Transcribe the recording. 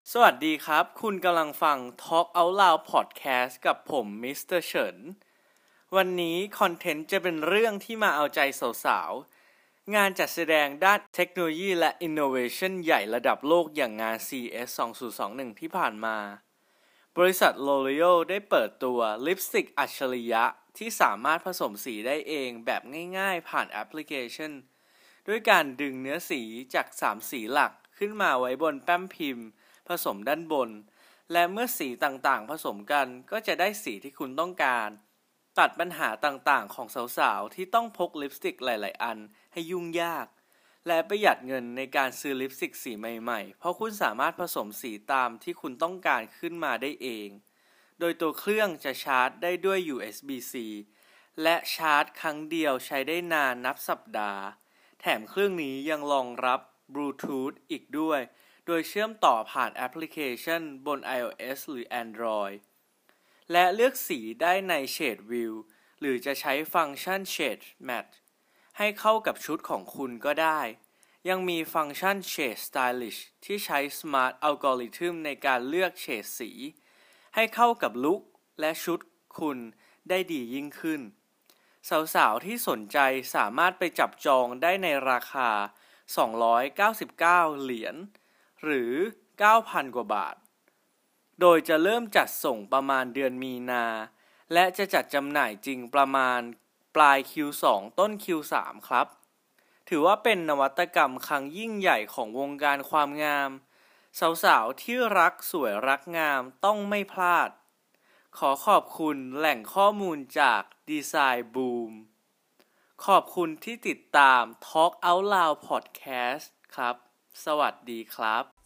สวัสดีครับคุณกำลังฟัง Talk Out Loud Podcast กับผมมิสเตอร์เฉินวันนี้คอนเทนต์จะเป็นเรื่องที่มาเอาใจสาวๆงานจัดแสดงด้านเทคโนโลยีและ Innovation ใหญ่ระดับโลกอย่างงาน CES 2021 ที่ผ่านมาบริษัท L'Oreal ได้เปิดตัวลิปสติกอัจฉริยะที่สามารถผสมสีได้เองแบบง่ายๆผ่านแอปพลิเคชันด้วยการดึงเนื้อสีจาก3สีหลักขึ้นมาไว้บนแป้นพิมพ์ผสมด้านบนและเมื่อสีต่างๆผสมกันก็จะได้สีที่คุณต้องการตัดปัญหาต่างๆของสาวๆที่ต้องพกลิปสติกหลายๆอันให้ยุ่งยากและประหยัดเงินในการซื้อลิปสติกสีใหม่ๆเพราะคุณสามารถผสมสีตามที่คุณต้องการขึ้นมาได้เองโดยตัวเครื่องจะชาร์จได้ด้วย USB-C และชาร์จครั้งเดียวใช้ได้นานนับสัปดาห์แถมเครื่องนี้ยังรองรับบลูทูธอีกด้วยโดยเชื่อมต่อผ่านแอปพลิเคชันบน iOS หรือ Android และเลือกสีได้ใน Shade View หรือจะใช้ฟังก์ชัน Shade Match ให้เข้ากับชุดของคุณก็ได้ยังมีฟังก์ชัน Shade Stylish ที่ใช้ Smart Algorithm ในการเลือกเฉดสีให้เข้ากับลุคและชุดคุณได้ดียิ่งขึ้นสาวๆที่สนใจสามารถไปจับจองได้ในราคา299เหรียญหรือ 9,000 กว่าบาทโดยจะเริ่มจัดส่งประมาณเดือนมีนาและจะจัดจำหน่ายจริงประมาณปลาย Q2 ต้น Q3 ครับถือว่าเป็นนวัตกรรมครั้งยิ่งใหญ่ของวงการความงามสาวๆที่รักสวยรักงามต้องไม่พลาดขอขอบคุณแหล่งข้อมูลจาก Design Boom ขอบคุณที่ติดตาม Talk Out Loud Podcast ครับสวัสดีครับ